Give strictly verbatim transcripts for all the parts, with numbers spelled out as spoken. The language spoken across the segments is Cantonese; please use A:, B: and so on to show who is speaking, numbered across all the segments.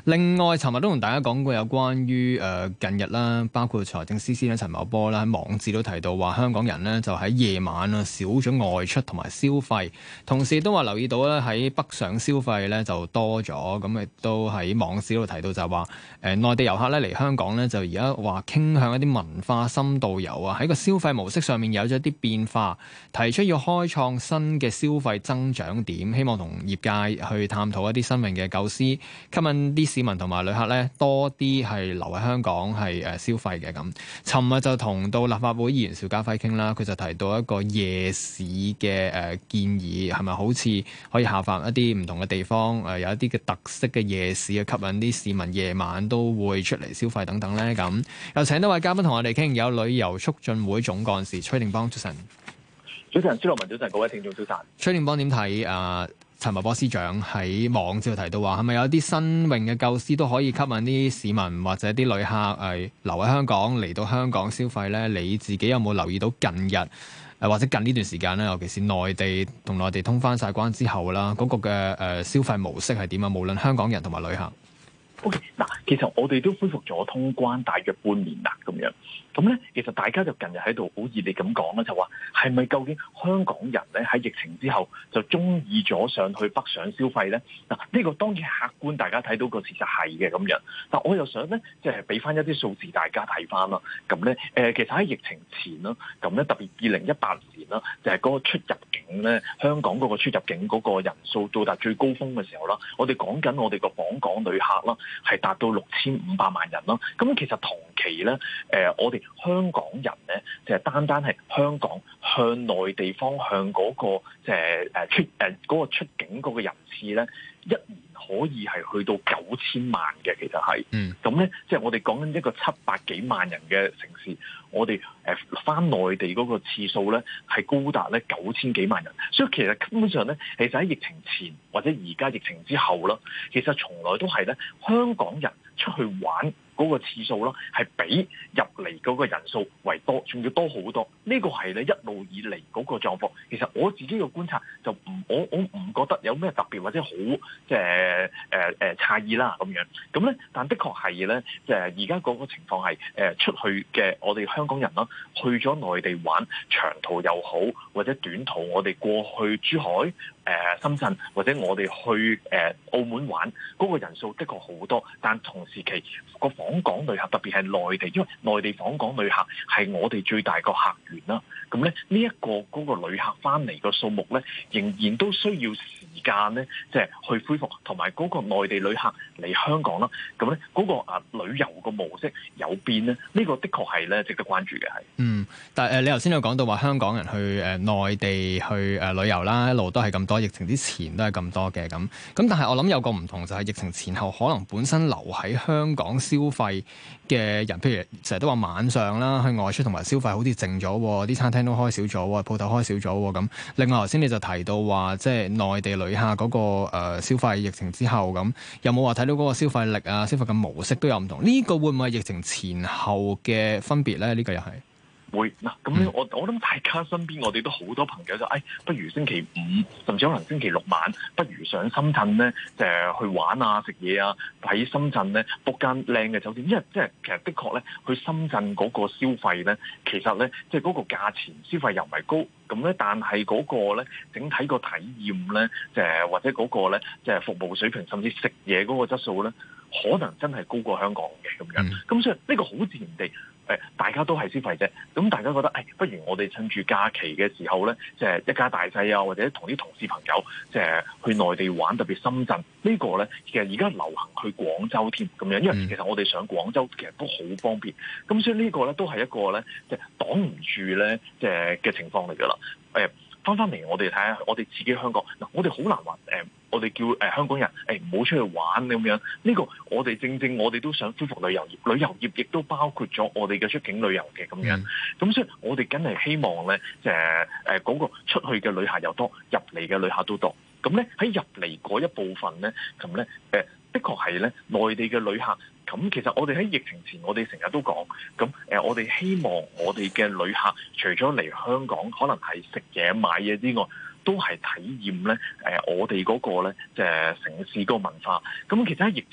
A: 另外，尋日都同大家講過有關於誒、呃、近日啦，包括財政司司長陳茂波啦喺網誌都提到話，香港人呢就喺夜晚啊少咗外出同埋消費，同時都話留意到咧喺北上消費咧就多咗，咁亦都喺網誌度提到就係話誒內地遊客咧嚟香港咧就而家話傾向一啲文化深度遊啊，喺個消費模式上面有咗一啲變化，提出要開創新嘅消費增長點，希望同業界去探討一啲新穎嘅構思，吸引啲市民同埋旅客咧多啲係留喺香港係誒消費嘅咁。尋日就同到立法會議員邵家輝傾啦，佢就提到一個夜市嘅誒建議，係咪好似可以效法一啲唔同嘅地方誒有一啲嘅特色嘅夜市，去吸引啲市民夜晚都會出嚟消費等等咧咁。又請多位嘉賓同我哋傾，有旅遊促進會總幹事崔定邦，早晨。
B: 早晨，朱樂文早晨，各位聽眾早晨。
A: 崔定邦點睇啊？陳茂波司長喺網誌提到話，係咪有啲新穎嘅構思都可以吸引啲市民或者啲旅客誒留喺香港嚟到香港消費咧？你自己有冇留意到近日誒或者近呢段時間咧，尤其是內地同內地通翻晒關之後啦，嗰、那個嘅誒消費模式係點啊？無論香港人同埋旅客。
B: O.K. 嗱，其實我哋都恢復咗通關大約半年啦，咁樣，咁咧，其實大家就近日喺度好熱烈咁講啦，就話係咪究竟香港人咧喺疫情之後就中意咗上去北上消費咧？嗱，呢個當然客觀大家睇到個事實係嘅咁樣，但我又想咧，即係俾翻一啲數字大家睇翻啦。咁咧，誒，其實喺疫情前啦，咁咧特別二零一八年啦，就係嗰個出入境咧，香港嗰個出入境嗰個人數到達最高峰嘅時候啦，我哋講緊我哋個訪港旅客啦，係達到六千五百萬人咯。咁其實同期咧，誒、呃，我哋香港人咧，就係、是、單單係香港向內地方向嗰、那個即係誒出誒嗰、呃那個出境嗰個人次咧，一年可以係去到九千萬嘅，其實係，嗯，咁咧，即係我哋講緊一個七百幾萬人嘅城市，我哋誒返內地嗰個次數咧係高達咧九千幾萬人，所以其實根本上咧，其實喺疫情前或者而家疫情之後啦，其實從來都係咧香港人出去玩嗰個次數啦，係比入嚟嗰個人數為多，仲要多好多。呢個係咧一路以嚟嗰個狀況。其實我自己嘅觀察就唔，我我唔覺得有咩特別或者好即係誒誒詫異啦咁樣。咁咧，但的確係咧，即係而家嗰個情況係誒出去嘅我哋香港人啦，去咗內地玩長途又好，或者短途，我哋過去珠海、誒、呃、深圳或者我哋去誒、呃、澳門玩嗰、那個人數的確好多，但同時期個訪港旅客特別係內地，因為內地訪港旅客係我哋最大個客源啦。咁咧呢一個嗰個旅客翻嚟個數目咧，仍然都需要時間咧，即係去恢復，同埋嗰個內地旅客嚟香港啦。咁咧嗰個啊旅遊個模式有變咧，呢個的確係咧值得關注嘅係。
A: 嗯，但係誒你頭先有講到話香港人去誒內地去誒旅遊啦，一路都係咁多，疫情之前都係咁多嘅咁。咁但係我諗有個唔同就係疫情前後可能本身留喺香港消費嘅人，譬如成日都話晚上啦去外出同埋消費好似靜咗，啲餐廳都開少咗，鋪頭開少咗咁。另外頭先你就提到話，即係內地旅客嗰個誒消費疫情之後咁，有冇話睇到嗰個消費力啊、消費嘅模式都有唔同？呢個會唔會係疫情前後嘅分別咧？呢個又係。
B: 會嗱，咁咧我我諗大家身邊我哋都好多朋友就誒、哎，不如星期五甚至可能星期六晚，不如上深圳咧，就係去玩啊、食嘢啊，喺深圳咧 book 間靚嘅酒店，因為即係其實的確咧，去深圳嗰個消費咧，其實咧即係嗰個價錢消費又唔係高，咁咧但係嗰個咧整體個體驗咧，就係或者嗰個咧即係服務水平，甚至食嘢嗰個質素咧，可能真係高過香港嘅咁樣，咁、嗯、所以呢個好自然地。誒，大家都係消費者，咁大家覺得，誒、哎，不如我哋趁住假期嘅時候咧，即係一家大細啊，或者同啲同事朋友，即係去內地玩，特別深圳、這個、呢個咧，其實而家流行去廣州添，咁樣，因為其實我哋上廣州其實都好方便，咁所以呢個咧都係一個咧，即係擋唔住咧，即係嘅情況嚟噶啦。誒，翻翻嚟我哋睇下，我哋自己香港嗱，我哋好難話誒。我哋叫誒、呃、香港人誒唔好出去玩咁樣，呢、這個我哋正正我哋都想恢復旅遊業，旅遊業亦都包括咗我哋嘅出境旅遊嘅咁樣。咁、嗯、所以我哋梗係希望咧，誒誒嗰個出去嘅旅客又多，入嚟嘅旅客都多。咁咧喺入嚟嗰一部分咧，咁咧誒的確係咧內地嘅旅客。咁其實我哋喺疫情前，我哋成日都講，咁誒、呃、我哋希望我哋嘅旅客除咗嚟香港，可能係食嘢買嘢之外，都係體驗咧，誒、呃，我哋嗰個咧，即係城市個文化。咁其實喺疫情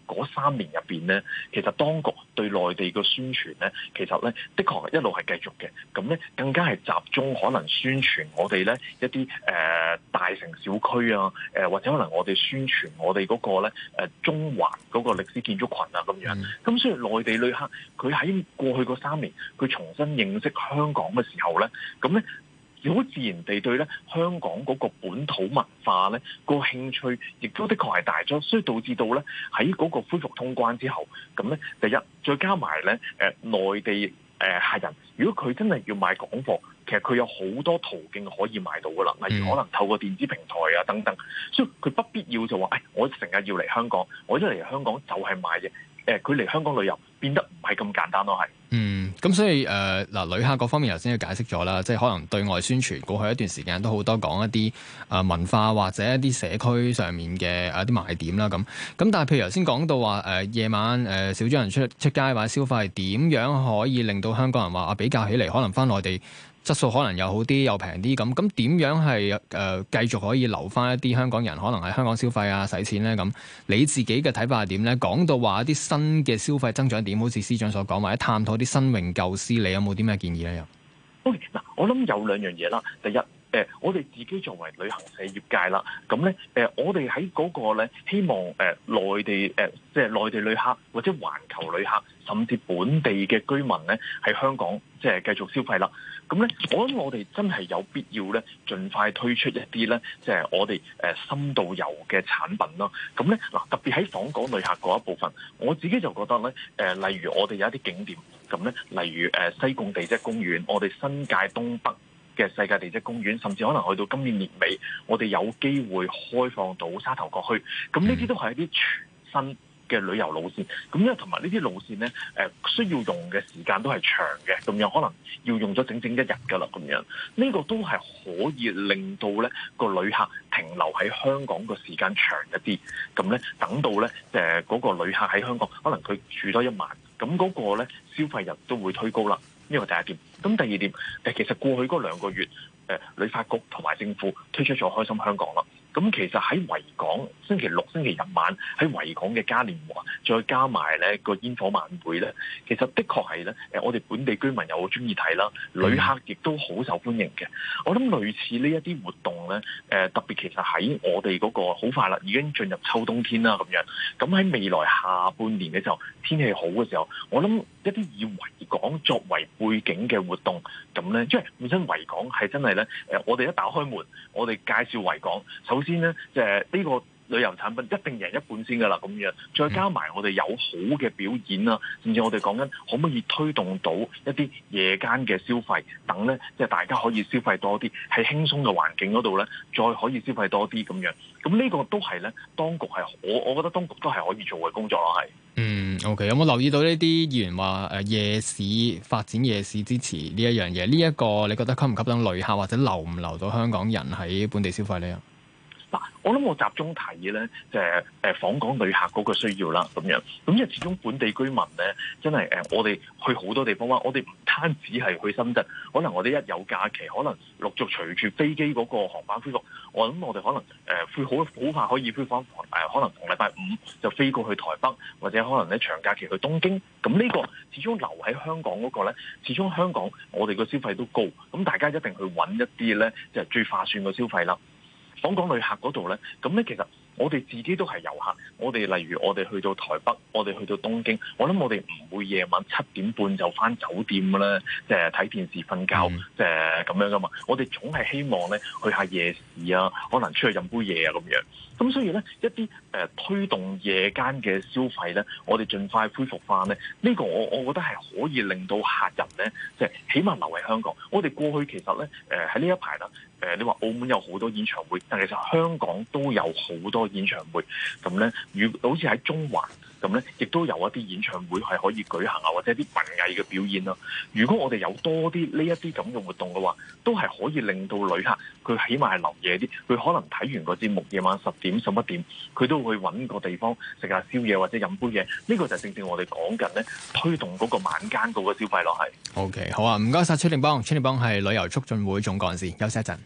B: 嗰三年入邊咧，其實當局對內地嘅宣傳咧，其實咧的確一路係繼續嘅。咁咧更加係集中可能宣傳我哋咧一啲誒、呃、大城小區啊，誒、呃、或者可能我哋宣傳我哋嗰個咧誒中環嗰個歷史建築群啊咁樣。咁、嗯、所以內地旅客佢喺過去嗰三年，佢重新認識香港嘅時候咧，咁咧。好自然地對咧香港嗰個本土文化咧個興趣，亦都的確係大咗，所以導致到咧喺嗰個恢復通關之後，咁咧第一再加埋咧誒內地誒、呃、客人，如果佢真係要買港貨，其實佢有好多途徑可以買到噶啦，例如可能透過電子平台啊等等，所以佢不必要就話誒、哎、我成日要嚟香港，我一嚟香港就係買嘢。誒佢嚟香港旅遊變得唔係咁簡單咯，係。
A: 嗯，咁所以誒嗱、呃，旅客嗰方面頭先都解釋咗啦，即係可能對外宣傳過去一段時間都好多講一啲誒、呃、文化或者一啲社區上面嘅一啲賣點啦，咁咁但係譬如頭先講到話誒夜晚誒、呃、少咗人出出街或者消費，點樣可以令到香港人話啊比較起嚟可能返內地質素可能又好啲又平啲咁，咁點樣係誒、呃、繼續可以留翻一啲香港人可能喺香港消費啊使錢咧？咁你自己嘅睇法係點咧？講到話一啲新嘅消費增長點，好似司長所講，或者探討啲新穎舊思，你有冇啲咩建議咧？又
B: OK 嗱，我諗有兩樣嘢啦。第一，誒、呃，我哋自己作為旅行社業界啦，咁咧誒，我哋喺嗰個咧希望誒、呃、內地誒、呃、即係內地旅客或者環球旅客，甚至本地嘅居民咧喺香港即係繼續消費啦。咁咧，我諗我哋真係有必要咧，盡快推出一啲咧，即係我哋誒深度遊嘅產品咯。咁咧嗱，特別喺訪港旅客嗰一部分，我自己就覺得咧，誒例如我哋有一啲景點，咁咧，例如誒西貢地質公園，我哋新界東北嘅世界地質公園，甚至可能去到今年年尾，我哋有機會開放到沙頭角去。咁呢啲都係一啲全新嘅旅遊路線，咁因為同埋呢啲路線咧，誒、呃、需要用嘅時間都係長嘅，咁樣可能要用咗整整一日噶啦，咁樣呢、這個都係可以令到咧個旅客停留喺香港個時間長一啲，咁咧等到咧誒嗰個旅客喺香港，可能佢住多一晚，咁嗰個咧消費日都會推高啦。呢個第一點。咁第二點，誒其實過去嗰兩個月，誒、呃、旅發局同埋政府推出咗開心香港啦。咁其實喺維港星期六、星期日晚喺維港嘅嘉年華，再加埋咧個煙火晚會咧，其實的確係咧誒，我哋本地居民又好中意睇啦，旅客亦都好受歡迎嘅。我諗類似呢一啲活動咧，誒、呃、特別其實喺我哋嗰個好快啦，已經進入秋冬天啦咁樣。咁喺未來下半年嘅時候，天氣好嘅時候，我諗一啲以維港作為背景嘅活動，咁咧，即係本身維港係真係咧誒，我哋一打開門，我哋介紹維港，首先咧，即係呢個旅遊產品一定贏一半先噶啦，咁樣再加埋我哋有好嘅表演啊，甚至我哋講緊可唔可以推動到一啲夜間嘅消費等咧，即係大家可以消費多啲，喺輕鬆嘅環境嗰度咧，再可以消費多啲咁樣。咁呢個都係咧，當局係我我覺得當局都係可以做嘅工作咯，係。嗯
A: ，OK，有冇留意到呢啲議員話誒夜市發展夜市支持呢一樣嘢？呢、這、一個你覺得吸唔吸引旅客或者留唔留到香港人喺本地消費呢？
B: 嗱，我諗我集中睇咧，就係誒訪港旅客嗰個需要啦，咁樣。咁因為始終本地居民咧，真係誒我哋去好多地方玩，我哋唔單止係去深圳，可能我哋一有假期，可能陸續隨住飛機嗰個航班恢復，我諗我哋可能誒會好好快可以恢復誒，可能同禮拜五就飛過去台北，或者可能咧長假期去東京。咁呢個始終留喺香港嗰個咧，始終香港我哋個消費都高，咁大家一定去揾一啲咧，就係最划算嘅消費啦。訪港旅客嗰度咧，咁咧其實我哋自己都係遊客，我哋例如我哋去到台北，我哋去到東京，我諗我哋唔會夜晚七點半就返酒店嘅啦，即係睇電視瞓覺，即係咁樣噶嘛。我哋總係希望咧去下夜市啊，可能出去飲杯嘢啊咁樣。咁所以咧一啲誒、呃、推動夜間嘅消費咧，我哋盡快恢復翻咧，呢、這個我我覺得係可以令到客人咧，即係起碼留喺香港。我哋過去其實咧誒喺呢、呃、一排啦，誒、呃、你話澳門有好多演唱會，但其實香港都有好多演唱會。咁咧，如好似喺中環咁咧，亦都有一啲演唱會係可以舉行啊，或者一啲文藝嘅表演啦。如果我哋有多啲呢一啲咁嘅活動嘅話，都係可以令到旅客佢起碼係留夜啲，佢可能睇完個節目夜晚十點十一點，佢都會揾個地方食下宵夜或者飲杯嘢。呢、這個就正正我哋講緊咧，推動嗰個晚間嗰個消費咯，係。
A: OK，好啊，唔該晒崔定邦，崔定邦係旅遊促進會總幹事，休息一陣。